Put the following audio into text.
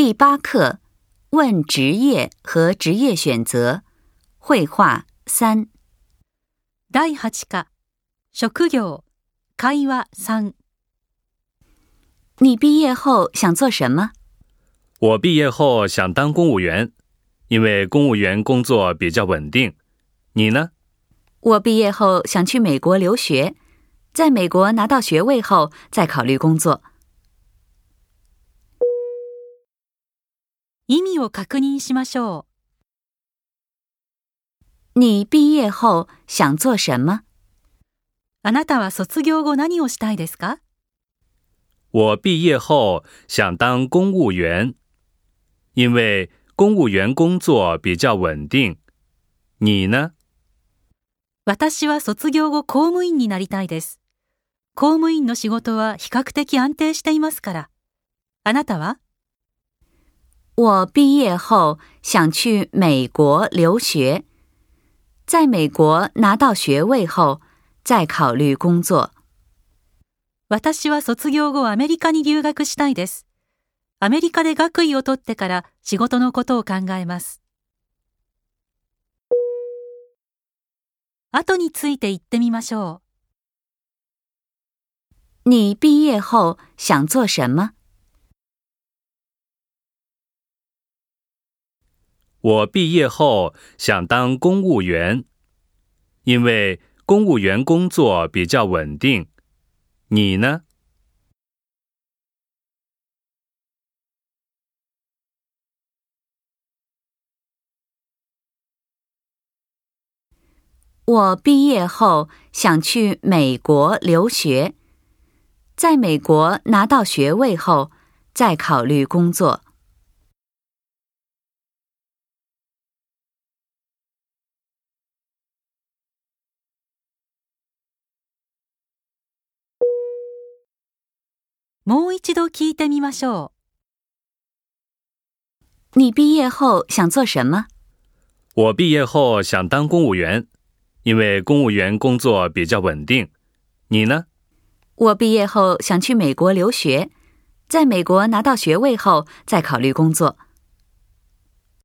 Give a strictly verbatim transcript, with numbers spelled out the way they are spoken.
第八课，问职业和职业选择。绘画三。 だいはち課、職業、会話三。 你毕业后想做什么？ 我毕业后想当公务员，因为公务员工作比较稳定。你呢？ 我毕业后想去美国留学，在美国拿到学位后再考虑工作。 意味を確認しましょう。你毕业后想做什么？ あなたは卒業後何をしたいですか？ 我毕业后想当公务员，因为公务员工作比较稳定。你呢？ 私は卒業後公務員になりたいです。公務員の仕事は比較的安定していますから。あなたは？ 我毕业后想去美国留学，在美国拿到学位后再考虑工作。 私は卒業後アメリカに留学したいです。アメリカで学位を取ってから仕事のことを考えます。後について言ってみましょう。你毕业后想做什么？ 我毕业后想当公务员，因为公务员工作比较稳定。你呢？ 我毕业后想去美国留学，在美国拿到学位后再考虑工作。 もう一度聞いてみましょう。你毕业后想做什么？ 我毕业后想当公务员，因为公务员工作比较稳定。你呢？ 我毕业后想去美国留学，在美国拿到学位后再考虑工作。